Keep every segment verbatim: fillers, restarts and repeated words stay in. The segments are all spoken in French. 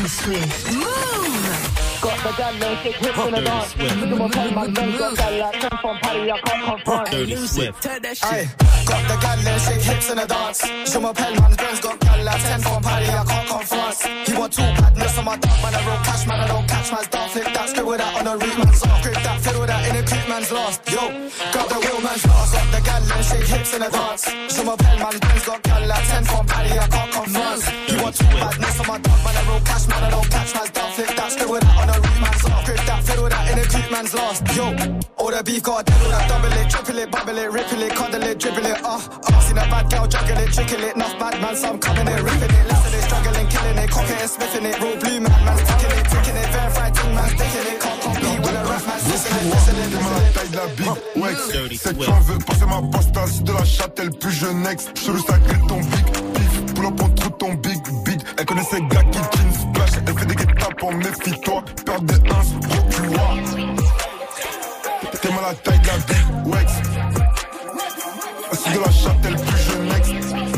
Dirty Swift. Move! Got the gal and shake hips in the dance. Look at my pen, my friends got gal like ten from Paddy, I can't confront. Dirty Swift. Turn that shit. Got the gal and shake hips in the dance. Show my pen, my friends got gal like ten from Paddy, I can't confront. He want two badness on my dog, man, I roll cash, man, I don't catch man's dog. Flick that, scribble that on the read man's off. Grip that, fiddle that in a creep man's lost. Yo, got the wheel man's lost. Got the gal and shake hips in the dance. Show my pen, my friends got gal like ten from Paddy, I can't confront. He want two badness on my dog, man, I roll cash, man, I don't catch man's dog. Flick that, scribble that on the read man's off. Grip that, fiddle that in a creep man's lost. Yo, all the beef got a devil that double it, triple it, bubble it, ripple it, cuddle it, dribble it, uh, uh. Seen a bad girl juggle it, trickle it, enough bad man, some coming it, ripping it, less of it, struggling, killing it, cocking it, sniffing it, raw blue man, man's ticking it, ticking it, verified thing, man's sticking it, can't compete with a rap man, listening, listening, listening. Taille de la big Wex, c'est que tu en veux passer ma pasta, c'est de la Châtel plus jeune ex, je veux sacré ton big beef, pull up en trou ton big beat, elle connaît ces gars qui jean splash, elle fait des guet-tapes en méfie-toi, perdre des uns, gros tu vois. T'es mal à la taille de la big Wex, c'est de la Châtel plus jeune ex,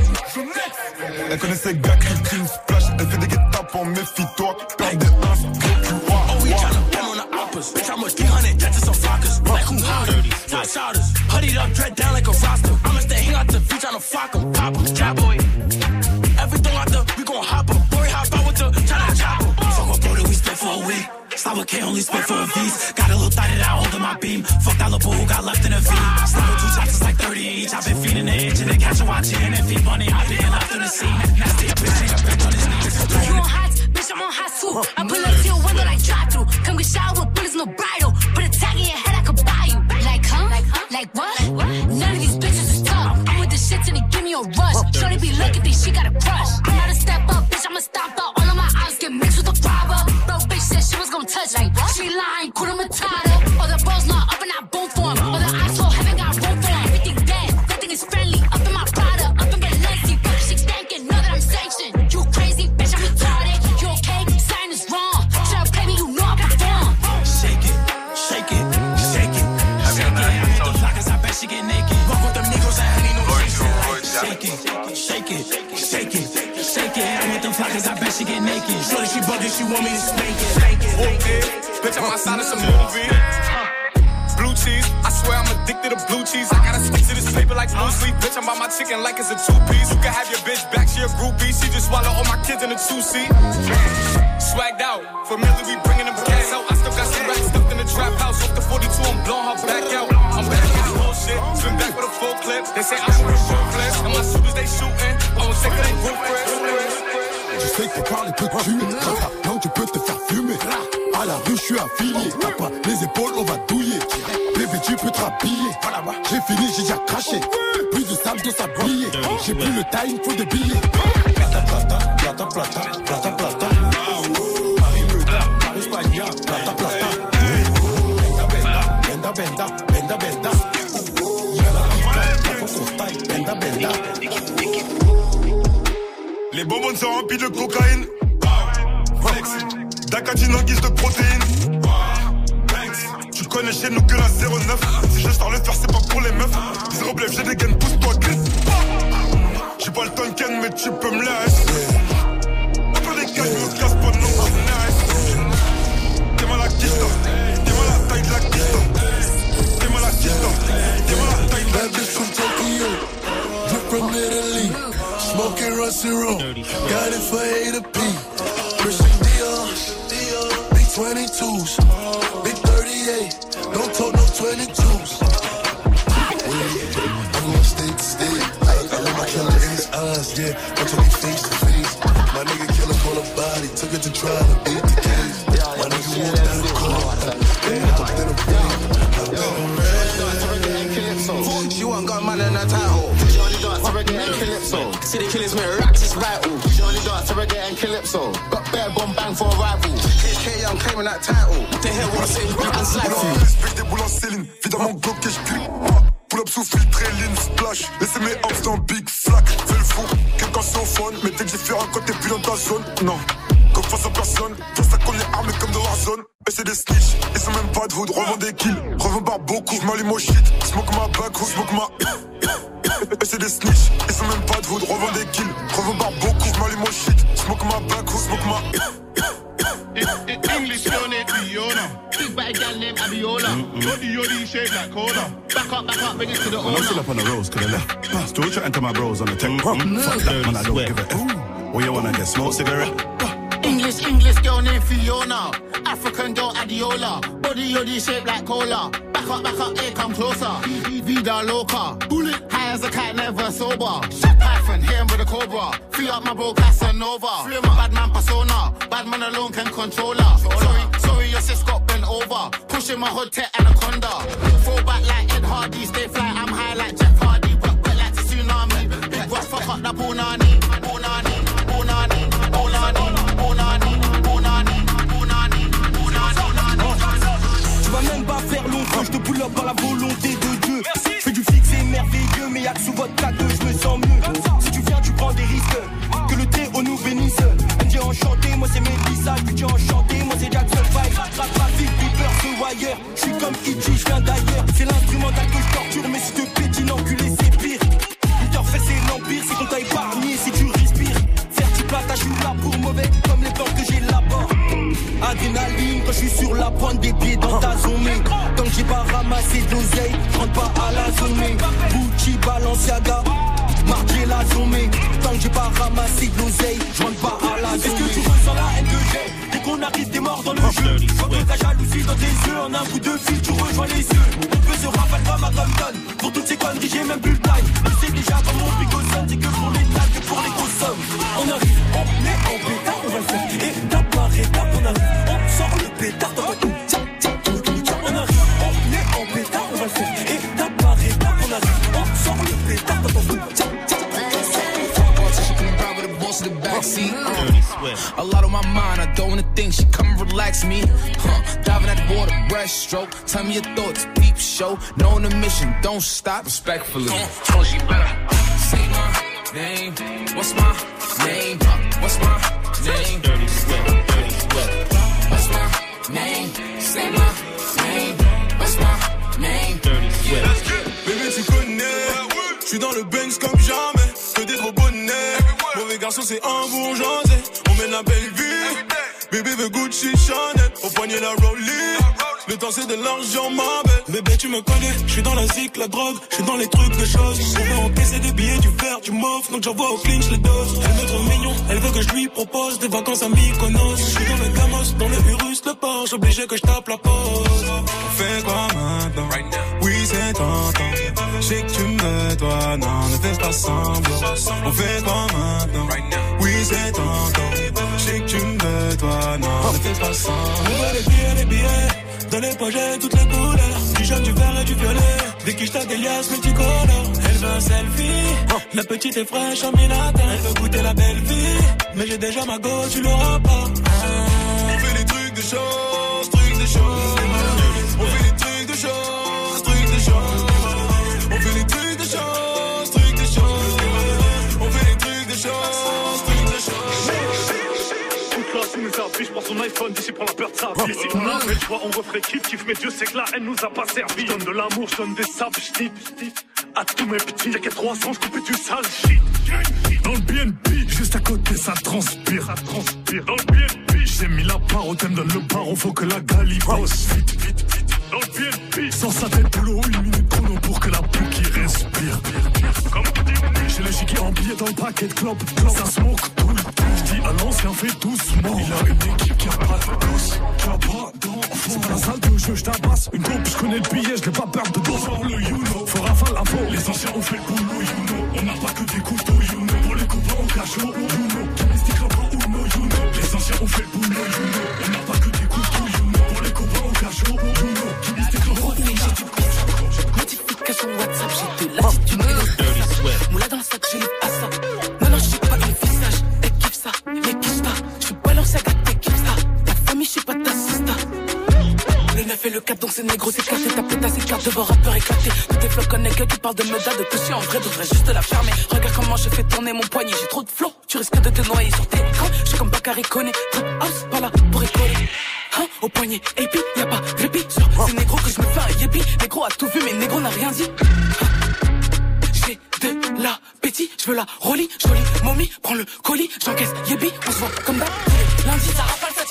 elle connaît ces gars qui jean splash, elle fait des guet-tapes en méfie-toi, perdre des uns, gros tu vois. Oh, we tryna come on the oppas, bitch, I'm a three hundred, that's just some flockers, like who hotter, top shouters, hoodied up, dread down like a roster, I'ma stay hang out the beach, I'ma flock 'em, pop 'em, trap boy, everything out there, we gon' hop 'em, boy, hop out with the China chopper, fuck up, bro, that we split for a week. Slava K only spit for a V's. Got a little thought that I hold in my beam. Fuck that little who got left in a V. Slava two shots is like thirty each. I've been feeding the itch and then catch a watching and feed money. I've been left in the scene. Nasty bitch, ain't a bitch on his knees. You on hot, bitch, I'm on hot too. I pull up to your window like drive through. Come get showered with bullets, no bridle. Put a tag in your head, I could buy you. Like, huh? Like, huh? Like what? Like what? None of these bitches is tough. I'm with the shit till they give me a rush. Shorty be looking, think she got a crush. I'm not a step up, bitch, I'ma stop out. All of my eyes get mixed with the robber. Bro, bitch said she was gonna touch like what? She lying, Kuna Matata. All the bros not up and I boom for him. All the asshole haven't got room for him. Everything dead, nothing is friendly. Up in my Prada, up and get lazy. Bitch, she thinking, know that I'm sanctioned. You crazy, bitch, I'm retarded. You okay? Sign is wrong. Try to play me, you know I perform. Shake it, shake it, shake it, shake it. I hit the blockers, I bet she get naked. Walk with them niggas, I ain't no shake it, shake it, shake it, shake it. I'm with them flockers, I bet she get naked. Shorty, she bugging, she want me to spank it, spank it. Okay, bitch, I'm outside of some movie. Blue cheese, I swear I'm addicted to blue cheese. I gotta stick to this paper like blue sleep. Bitch, I'm by my chicken like it's a two-piece. You can have your bitch back, she a groupie. She just swallow all my kids in a two-seat. Swagged out, familiar, we bringing them cats out. I still got some racks stuffed in the trap house. Off the forty-two, I'm blowing her back out. I'm back in this bullshit, spin back with a full clip. They say I'm a ruthless, and my shooters they shooting. I'm sick of they ruthless. Je sais que ton corps peut te tuer. Quand t'as non, tu peux te faire fumer. À la rue, je suis affilié. T'as pas les épaules, on va douiller. Bébé, tu peux te rhabiller. J'ai fini, j'ai déjà craché. Plus de sable, de sablier. J'ai plus le time, faut des billets. Plata, plata, plata, plata, plata, plata. Paris, Meuda, Paris, Spagna, plata, plata. Benda, benda, benda, benda, benda. Y'a la pica, benda, benda. Les bonbons sont remplis de cocaïne. Flex, Dacatine en guise de protéines. Tu connais chez nous que la zéro neuf. Si je sors le faire, c'est pas pour les meufs. Zéro blef, j'ai des gaines, pousse-toi, glisse. J'ai pas le temps de ken, mais tu peux me laisser. Un peu des cages, me casse pas de nom, t'es mal à Kista. T'es mal à la taille de la Kista. T'es mal à Kista. T'es mal à la taille de la Kista. Drip from Italy. Smoking Rusty Roll, got it for A to P. Christian Dior, big twenty-twos, big thirty-eight, don't talk no twenty-twos. I'm gonna stay to stay. I let my killer in his eyes, yeah. I'm talking face to face. My nigga killer call a body, took it to trial and beat the case. My nigga walked down the court, they hopped in a plane. She want got man in her title. She only dance to reggae and calypso. See the killers with racks, it's vital. She only dance to reggae and calypso. Got bare bomb bang for a rival. H K, I'm claiming that title. What the hell, what I say? I'm slacking. Respect des boules en céline, évidemment bloc et j'clique. Pull up sous filtré, lean, splash. Laissez mes hops dans big flac. Fais le fou, quelqu'un c'est au phone. Mais t'es différent quand t'es plus dans ta zone. Non, comme face à personne. Face à qu'on est armé comme dans Warzone. Et c'est des snitch, ils sont même pas de hood. Revends des kills, revends par beaucoup. J'm'allume au shit, smoke ma back ou smoke ma. Et c'est des snitch, ils sont même pas de hood. Revends des kills, revends par beaucoup. J'm'allume au shit, smoke ma back ou smoke ma. English girl named Fiona. Big bad gal named Abiola. Yodi yodi shaped like cola. Back up, back up, bring it to the owner. I'm still up on the roads to the left. Still chatting to my bros on the tech. Fuck that man, I don't give a F. What you wanna get? Smoke cigarette? English, English girl named Fiona. African girl Adiola. Body yodi shaped like cola. Back up, back up, here come closer. Vida loca. Bullet. High as a cat, never sober. Shit Python, hit him with a cobra. Free up my bro Casanova. Free my bad man persona. Bad man alone can control her. Sorry, sorry, your sis got bent over. Pushing my hood tech anaconda. Fall back like Ed Hardy. Stay fly, I'm high like Jeff Hardy. But wet like the tsunami. Big Ross, fuck up the Punani. Punani, Punani, Punani, Punani, Punani, Punani, Punani. Tu vas même pas faire long feu, je te pull up par la volonté de Dieu. Je fais du fixe et merveilleux, mais y'a que sous votre K deux, je me sens mieux. Si tu viens, tu prends des risques, que le thé au nous bénisse. M J enchanté, moi c'est Mélissa, Gucci enchanté, moi c'est Jackson five. Rap rapide, Bieber, The Wire, je suis comme E G, je viens d'ailleurs. C'est l'instrumental que je torture, mais si te pétine enculé, c'est pire. Luther fait c'est l'empire, c'est qu'on t'a épargné si tu respires. Faire du plata, je suis là pour mauvais, comme les plantes que j'ai là-bas. Adrénaline quand je suis sur la pointe des pieds dans ta zone. Tant que j'ai pas ramassé de l'oseille, je rentre pas à la zone. Gucci, Balenciaga, marqué la zone. Tant que j'ai pas ramassé de l'oseille, je rentre pas à la zone. Est-ce que tu ressens la haine que j'ai? Dès qu'on arrive t'es mort dans le jeu. Je vois que ta jalousie dans tes yeux. En un coup de fil tu rejoins les yeux. On peut se rafale comme à Compton. Pour toutes ces conneries j'ai même plus le time. Je sais déjà comme mon bigot sonne. C'est que pour les tags, que pour les grosses sommes. On arrive, on est en pétard, on va le faire. Étape par étape on arrive. On sort le pétard dans votre tiens, tiens, on arrive, on est en pétard, on va le faire. Étape par étape, on arrive, on sort le pétard dans votre tiens, tiens, A lot on my mind, I don't wanna think. She come and relax me. Huh. Diving at the border, breaststroke. Tell me your thoughts, peep show. Knowing the mission, don't stop. Respectfully. Oh, she better say my name. What's my name? What's my name? Dirty Swift, Dirty Swift. What's my name? Say my name. What's my name? Dirty Swift. Bébé, tu connais. J'suis dans le Benz comme jamais. Que des gros bonnets. Mauvais garçon, c'est un bourgeoisé. On mène la belle vie. Bébé veut Gucci, Chanel. Au poignet la Rollie. Le temps c'est de l'argent, ma belle. Bébé, tu me connais. J'suis dans la zik, la drogue. J'suis dans les trucs de choses. On veut encaisser des billets, du verre, du mauve. Donc j'envoie au clean, j'les dose. Elle me trouve mignon. Elle veut que je lui propose des vacances à Mykonos. J'suis dans le Gamos, dans le Urus, le port. J'obligé que je tape la pause. On fait quoi maintenant? Oui, c'est tentant. J'sais que tu me veux, toi, non, ne fais pas semblant. On fait quoi maintenant? Oui, c'est tentant. J'sais que tu me veux, toi, non, ne fais pas semblant. On veut les billets, les billets. Dans les poches, j'ai toutes les couleurs. Du jaune, du vert et du violet. Dès que j't'ai des liasses multicolores. Elle veut un selfie. La petite est fraîche en minata. Elle veut goûter la belle vie. Mais j'ai déjà ma go, tu l'auras pas. On fait les trucs de choses, trucs de choses. On fait les trucs de choses, trucs de choses. On fait les trucs de choses, trucs de choses. On fait les trucs de choses, trucs de choses. Toute la sous mes habits, j'prends son iPhone, d'ici prend la peur de sa vie. Si on a fait le choix, on referait kiff, kiff. Mais Dieu sait que la haine nous a pas servi. J'donne de l'amour, j'donne des sables, j'tip, j'tip. À tous mes petits, y'a qu'à trois cents, j'coupe du sale shit. Dans le B N B, juste à côté, ça transpire, ça transpire. Dans le B N B, j'ai mis la part au thème, donne le paro, faut que la gali bosse. Vite, vite, vite. Dans le B N B, sans sa tête boulot, une minute chrono pour que la peau qui respire. Comme j'ai le giga en billet dans le paquet de clopes, ça smoke tout le temps. J'dis à l'ancien, fais doucement. Il a une équipe qui a pas de douce, qui a pas d'enfant. C'est pas la salle de jeu, j'tabasse. Une coupe, j'connais le billet, j'l'ai pas peur de dos. Fort le you know, faut rafale la faux. Les anciens ont fait le boulot, you know. On n'a pas que des couteaux, you know. Pour les copains, on cache au you know. Mystique, là-bas, Uno, you know. Les anciens ont fait le boulot, you know. On n'a pas que des couteaux, you know. Pour les copains, on cache au you know. Mystique, là-bas, Uno. Notification WhatsApp, j'ai de l'attitude et le moula dans le sac, j'ai à ça. Non, non, j'suis pas un visage, elle kiffe ça, mais kiffe pas. J'suis balance à gâter, kiffe ça. Ta famille, j'suis pas ta sista. Le neuf et le quatre, donc c'est négro, c'est éclaté. Ta pétasse, c'est carte de vos rappeurs éclatés. Tous tes flots connaissent que qui parlent de meda, de pousser en vrai, devrais juste la fermer. Regarde comment je fais tourner mon poignet, j'ai trop de flow. Tu risques de te noyer sur tes crans. J'suis comme Bakary Koné, trap house, pas là pour écoler. Hein, au poignet, et puis y'a pas de répit sur ces négros que je me fais un yépi. Négro a tout vu, mais négro n'a rien dit. Hein, j'ai de l'appétit, je veux la rollie, jolie momie, prends le colis, j'encaisse yébi, on se voit comme d'hab. Lundi, ça rafale, ça tire en l'air.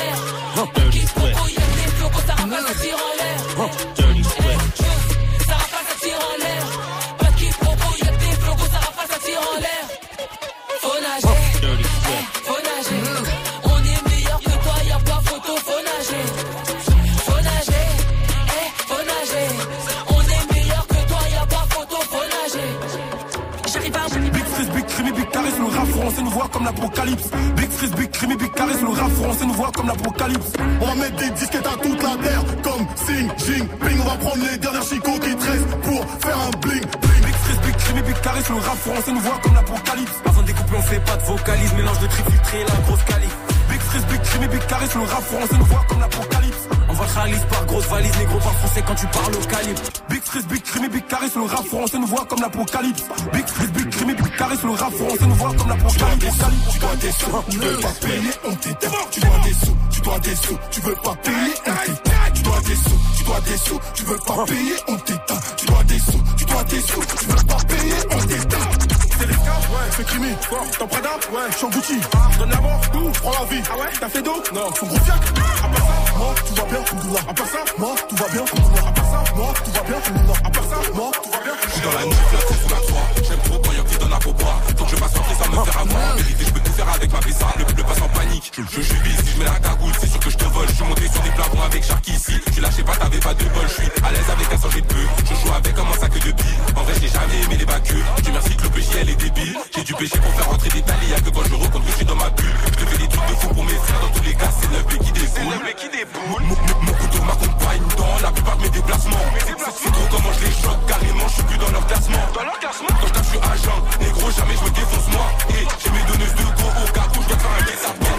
l'air. Qui propos, y'a des flocos, ça rafale, ça tire en l'air. Dirty Swift. Ça rafale, ça tire en l'air. Pas qui propos, y'a des flocos, ça rafale, ça tire en l'air. Faut nager, faut nager. On est meilleur que toi, y'a pas photo, faut nager. Faut nager, eh, faut nager. On est meilleur que toi, y'a pas photo, faut nager. J'arrive à Big Freeze, Big Crime, Big Charisme, le rap français nous voit comme l'apocalypse. Big Freeze, Big Crime, Big Charisme, le rap français nous voit comme l'apocalypse. On va mettre des disquettes à toute la terre, comme Sing, Jing, Ping. On va prendre les dernières chicots qui te restent pour faire un bling, bling. Big Freeze, Big Crime, Big Charisme, le rap français nous voit comme l'apocalypse. Avant de découper, on fait pas de vocalise, mélange de trip filtré, la grosse calife. Big Freeze, Big Crime, Big Charisme, le rap français nous voit comme l'apocalypse. On va réalise par grosse valise, négro par français quand tu parles au calibre. Big Freeze, Big Crime, Big Charisme, le rap français nous voit comme l'apocalypse. Big Freeze, Big Crime, Big Charisme, le rap français nous voit comme l'apocalypse. Tu dois des sous, tu veux pas payer, on t'éteint. Tu dois des sous, tu dois des sous, tu veux pas payer, on t'éteint. Tu dois des sous, tu dois des sous, tu veux pas payer, on t'éteint. Tu dois des sous, tu dois des sous, tu veux pas payer, on t'éteint. C'est les cas, ouais, c'est crimi, t'en Prada, ouais, j'suis en Gucci, je donne la mort, tout, prends la vie, ah ouais, t'as fait d'eau, non, son gros fiac, à part ça, moi, tout va bien, Alhamdoulilah, à part ça, moi, tout va bien, Alhamdoulilah, à part ça, moi, tout va bien, Alhamdoulilah, à part ça, moi, tout va bien, j'suis dans la nuit, la tête sous la croix, j'aime trop quand y'a qui donne à pourboire, faut que je passe sortir sans me faire avoir, en vérité, j'peux tout faire avec ma pissa, le peuple passe en panique, je je suis bis, si j'mets la cagoule, c'est sûr que j'te vole, j'suis monté sur des plafonds avec Sharky ici, tu lâchais pas, t'avais pas de bol, j'suis à l'aise avec un sang, j'ai peu, je joue avec comme un sac de billes, en vrai, j'ai jamais aimé les bacs, Dieu merci que le P J elle est débile, j'ai du péché pour faire rentrer des talis, y'a que quand je rencontre que je suis dans ma bulle. Je te fais des trucs de fou pour mes frères, dans tous les cas c'est neuf B qui déboule. C'est neuf B qui déboule. Mon, mon, mon couteau m'accompagne dans la plupart de mes déplacements. C'est trop comment je les choque, carrément je suis plus dans leur classement. Dans leur classement. Quand je suis agent, négro jamais je me défonce moi. Et j'ai mes donneuses de go au cas où je dois faire un guet à peine.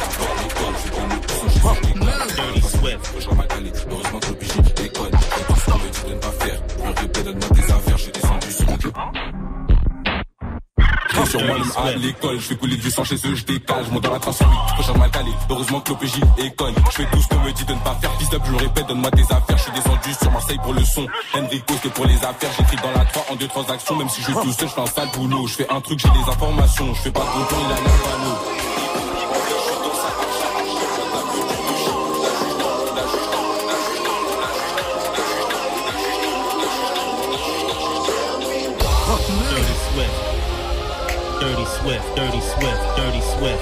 Dirty Swift. Je vois ma qualité, heureusement que le P J déconne. Et tout ce qu'on me dit de ne pas faire. Je me répète, donne-moi des affaires, j'ai descendu sur mon cœur. Sur moi même à l'école, je fais couler du sang chez eux, je décale, je monte dans la trente huit, prochain mal calé, heureusement que l'O P J est conne. Je fais tout ce qu'on me dit de ne pas faire, fils up, je le répète, donne-moi des affaires, je suis descendu sur Marseille pour le son, Enrico c'est pour les affaires, j'écris dans la trois en deux transactions, même si je suis tout seul, je fais un sale boulot, je fais un truc, j'ai des informations, je fais pas de bon temps, il a l'air panneau. Dirty Swift, Dirty Swift, Dirty Swift.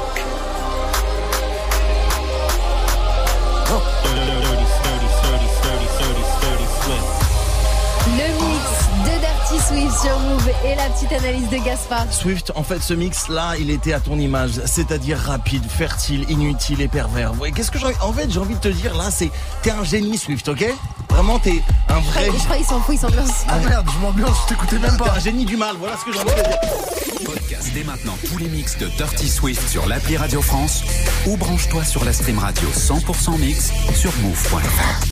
Dirty, dirty, dirty, dirty, dirty, dirty, dirty Swift. Le mix de Dirty Swift sur Move et la petite analyse de Gaspard. Swift, en fait, ce mix-là, il était à ton image, c'est-à-dire rapide, fertile, inutile et pervers. Ouais, qu'est-ce que j'ai envie... En fait, j'ai envie de te dire, là, c'est... T'es un génie, Swift, ok ? Vraiment, t'es un vrai... Je crois qu'il s'en fout, il s'ambiance. Ah merde, je m'ambiance, je t'écoutais même pas. T'es un génie du mal, voilà ce que j'ai envie de te dire. Podcast dès maintenant tous les mix de Dirty Swift sur l'appli Radio France ou branche-toi sur la stream radio cent pour cent mix sur move point f r.